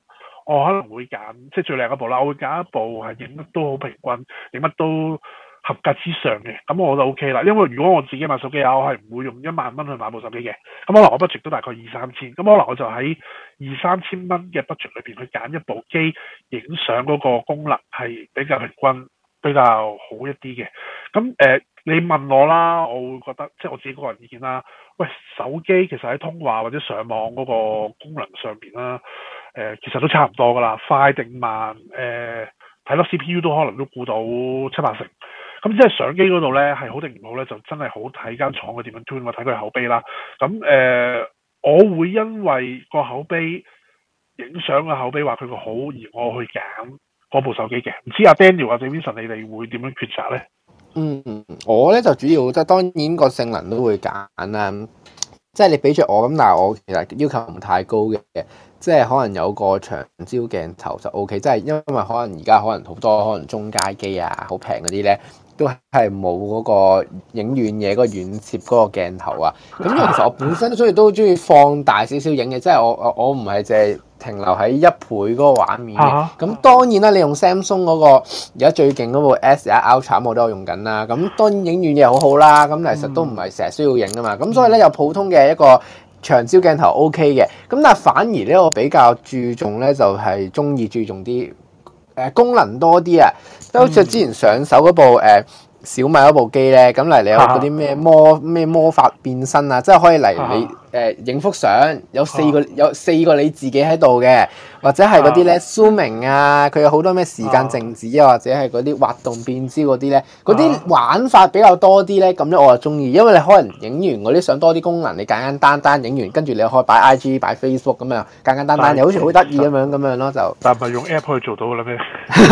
我可能會揀即係最靚一部啦，我會揀一部係影乜都好平均，影乜都合格之上嘅，咁我就 O K 啦。因為如果我自己買手機啊，我係唔會用一萬蚊去買部手機嘅。咁可能我 budget 都大概二三千，咁可能我就喺二三千蚊嘅 budget 裏邊去揀一部機，影相嗰個功能係比較平均、比較好一啲嘅。咁誒、呃，你問我啦，我會覺得即係我自己個人意見啦。喂，手機其實喺通話或者上網嗰個功能上邊啦，誒、呃，其實都差唔多噶啦，快定慢，誒、呃，睇粒 C P U 都可能都估到七八成。咁即係相機嗰度咧係好定唔好咧，就真係好睇間廠嘅點樣 tune，我睇佢口碑啦。咁誒、呃，我會因為個口碑影相嘅口碑話佢個好而我去揀嗰部手機嘅。唔知阿 Daniel 或者 Vincent 你哋會點樣抉擇咧？ 嗯，我咧就主要即係當然個性能都會揀啦。即係你俾著我咁，但係我其實要求唔太高嘅。即係可能有個長焦鏡頭就 O K，即係因為可能而家可能好多可能中階機啊，好平嗰啲咧，都係冇嗰個影遠嘢嗰個遠攝嗰個鏡頭啊。咁因為其實我本身都中意都中意放大少少影嘅，即係我我我唔係淨係停留喺一倍嗰個畫面嘅。咁當然啦，你用 Samsung 嗰個而家最勁嗰部 S 一 Ultra 我都有用緊啦。咁當然影遠嘢好好啦，咁其實都唔係成日需要影噶嘛。咁所以咧有普通嘅一個長焦鏡頭 OK 嘅，咁但係反而咧我比較注重咧就係中意注重啲誒、呃、功能多啲啊，即係好似之前上手嗰部誒、呃、小米嗰部機咧，咁嚟你有嗰啲咩魔咩魔法變身啊，即係可以嚟你誒影幅相有四個有四個你自己喺度嘅，或者係嗰啲咧 zooming 啊，佢有好多咩時間靜止啊，或者係嗰啲滑動變焦嗰啲咧，嗰啲玩法比較多啲咧，咁咧我就中意，因為你可能影完嗰啲相多啲功能，你簡簡單單影完，跟住你可以擺 I G 擺 Facebook 咁樣，簡簡單單又好似好得意咁樣咁樣咯就。 但係用 app 可以做到㗎啦咩？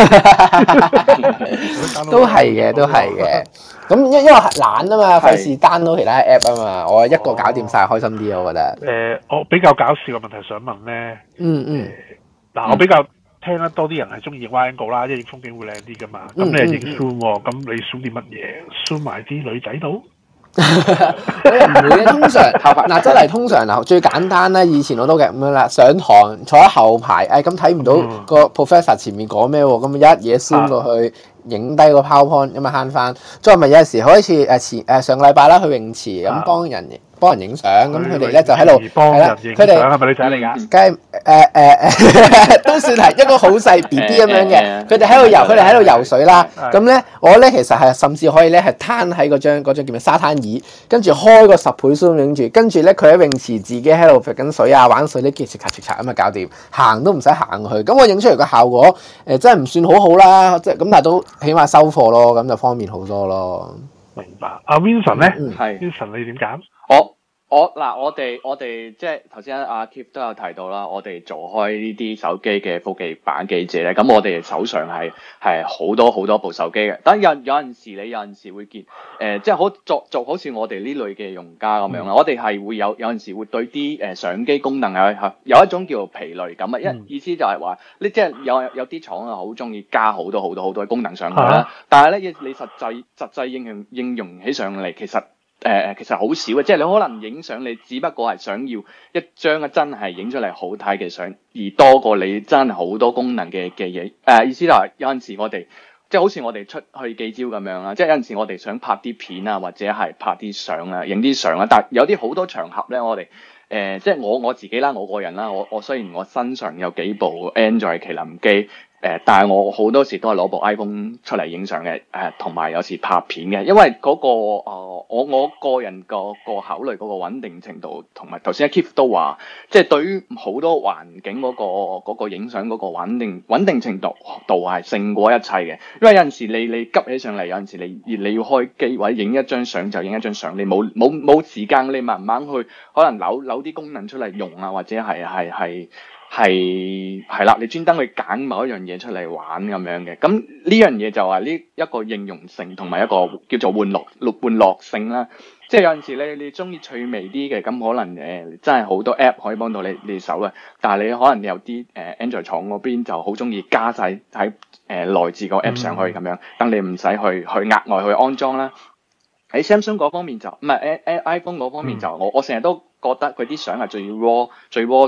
都係嘅，都係嘅。咁因因為懶啊嘛，費事 download 其他 app 啊嘛，我一個搞掂晒開心啲，我覺得。 誒、呃，我比較搞笑嘅問題想問咧。 嗯嗯。 嗱、呃，我比較聽得多啲人係中意影 wide angle 啦，因為影風景會靚啲噶嘛。咁你係影 zoom 喎，咁你 zoom 啲乜嘢？zoom 埋啲女仔度？ 我又唔會嘅，通常嗱真係通常嗱最簡單啦，以前我都嘅咁樣啦，上堂坐喺後排，誒咁睇唔到個 professor 前面講咩喎，咁一嘢 zoom 過去。影低個 PowerPoint 咁啊慳翻，再咪有陣時好似誒前誒上個禮拜啦去泳池咁幫人幫人影相，咁佢哋咧就喺度係啦，佢哋係咪女仔嚟㗎？梗係誒誒誒都算係一個好細 B B 咁樣嘅，佢哋喺度游，佢哋喺度游水啦。咁咧我咧其實係甚至可以咧係攤喺嗰張嗰張叫咩沙灘椅，跟住開個十倍 zoom 影住，跟住咧佢喺泳池自己喺度揈緊水啊玩水，呢啲切擦切擦咁啊搞掂，行都唔使行去。咁我影出嚟個效果誒真係唔算好好啦，即係咁但係都。起碼收貨咯，咁就方便好多咯。 明白。阿 Vincent 咧， 係 Vincent 你點揀？ 我我嗱，我哋我哋即係頭先阿 Keith 都有提到啦，我哋做開呢啲手機嘅科技版記者咧，咁我哋手上係係好多好多部手機嘅。但有有陣時你有陣時會見誒、呃，即係好做做好似我哋呢類嘅用家咁樣啦，嗯、我哋係會有有陣時會對啲誒、呃、相機功能係有一種叫做疲累感啊。一、嗯、意思就係話，你即係有有啲廠啊，好中意加好多好多好多功能上去啦，啊、但係咧你實際實際應用應用起上嚟，其實誒誒、呃，其實好少嘅，即係你可能影相，你只不過係想要一張真係影出嚟好睇嘅相，而多過你真係好多功能嘅嘅嘢。誒、呃，意思就係有陣時我哋即係好似我哋出去記招咁樣啦，即係有陣時我哋想拍啲片啊，或者係拍啲相啊，影啲相啊，但係有啲好多場合咧，我哋誒、呃，即係我我自己啦，我個人啦，我我雖然我身上有幾部 Android 麒麟機。誒、呃，但係我好多時都係攞部 iPhone 出嚟影相嘅，誒、呃，同埋有，有時拍片嘅，因為嗰、那個誒、呃，我我個人個個考慮嗰個穩定程度，同埋頭先阿 Keith 都話，即係對於好多環境嗰、那個嗰、那個影相嗰個穩定穩定程度度係勝過一切嘅，因為有陣時你你急起上嚟，有陣時你你要開機或者影一張相就影一張相，你冇冇冇時間，你慢慢去可能扭扭啲功能出嚟用啊，或者係係係。係係啦，你專登去揀某一樣嘢出嚟玩咁樣嘅，咁呢樣嘢就係呢一個應用性同埋一個叫做玩樂玩樂性啦。即係有陣時你你中意趣味啲嘅，咁可能誒、呃、真係好多 app 可以幫到你你手嘅，但係你可能有啲誒、呃、Android 廠嗰邊就好中意加晒喺誒內置個 app 上去咁樣，等你唔使去去額外去安裝啦。喺 Samsung 嗰方面就唔係誒誒 iPhone 嗰方面就、嗯、我我成日都覺得佢啲相係最 raw 最 raw 最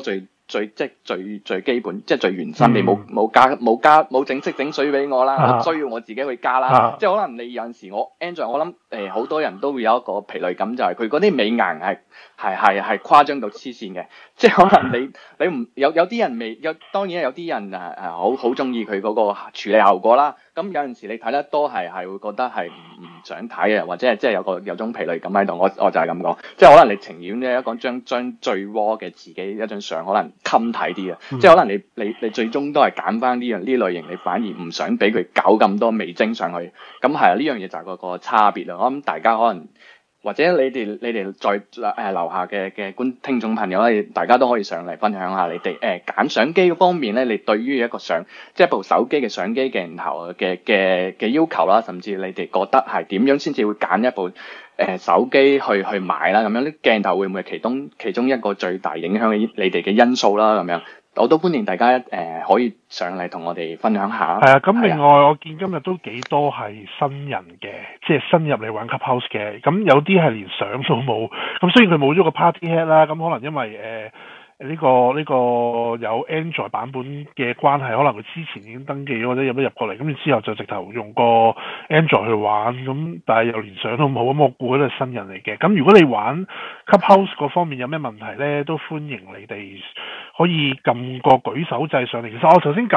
最即係最最基本，即係最原生。你冇冇加冇加冇整色整水俾我啦，啊、我需要我自己去加啦。啊、即係可能你有陣時我 Android，我諗誒好多人都會有一個疲累感，就係佢嗰啲美顏係係係係誇張到黐線嘅。即係可能你你唔有有啲人未有，當然有啲人誒誒好好中意佢嗰個處理效果啦。咁有陣時你睇得多係係會覺得係唔唔想睇嘅，或者係即係有個有種疲累感喺度。我我就係咁講，即係可能你情願咧一講將將最 raw 嘅自己一張相可能襟睇啲啊，嗯、即係可能你你你最終都係揀翻呢樣呢類型，你反而唔想俾佢搞咁多味精上去。咁係啊，呢樣嘢就係個個差別啦。我諗大家可能。或者你哋你哋在誒樓下嘅嘅觀聽眾朋友咧，大家都可以上嚟分享下你哋誒揀相機方面咧，你對於一個相即係部手機嘅相機鏡頭嘅嘅嘅要求啦，甚至你哋覺得係點樣先至會揀一部誒、呃、手機去去買啦，咁樣啲鏡頭會唔會係其中其中一個最大影響嘅你哋嘅因素啦，咁樣。我都歡迎大家誒、呃、可以上嚟同我哋分享下。係啊，咁另外、啊、我見今日都幾多係新人嘅，即係新入嚟玩 Clubhouse 嘅。咁有啲係連相都冇，咁雖然佢冇咗個 Party Hat 啦，咁可能因為誒呢、呃這個呢、這個有 Android 版本嘅關係，可能佢之前已經登記咗或者入一入過嚟，咁之後就直頭用個 Android 去玩，咁但係又連相都冇，咁我估佢都係新人嚟嘅。咁如果你玩 Clubhouse 嗰方面有咩問題咧，都歡迎你哋。可以撳個舉手掣上嚟。其實我頭先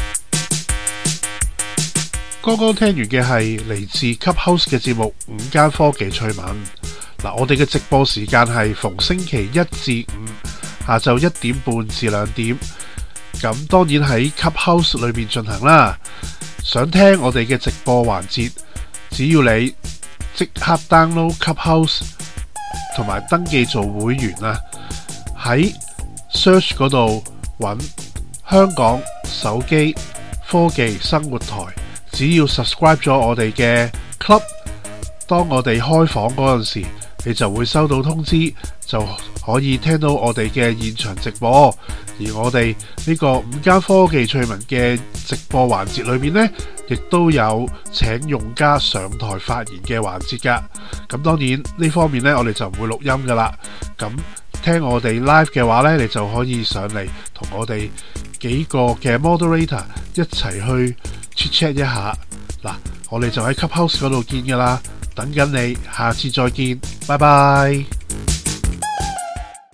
剛剛聽完嘅係嚟自 Clubhouse 嘅節目《午間科技趣聞》。嗱，我哋嘅直播時間係逢星期一至五下晝一點半至兩點。咁當然喺 Clubhouse 裏面進行啦。想聽我哋嘅直播環節，只要你即刻 download Clubhouse 同埋登記做會員啊，喺search 嗰度揾香港手機科技生活台，只要 subscribe 咗我哋嘅 club， 當我哋開房嗰陣時，你就會收到通知，就可以聽到我哋嘅現場直播。而我哋呢個午間科技趣聞嘅直播環節裏面呢，亦都有請用家上台發言嘅環節噶。咁當然呢方面呢，我哋就唔會錄音噶啦。咁聽我哋 live 嘅話呢，你就可以上嚟同我哋幾個嘅 moderator 一齊去 chat chat 一下。嗱，我哋就喺 Clubhouse 嗰度見噶啦，等緊你，下次再見，拜拜。